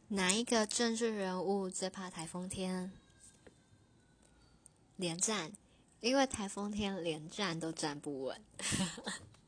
哪一个政治人物最怕台风天？连战，因为台风天连站都站不稳。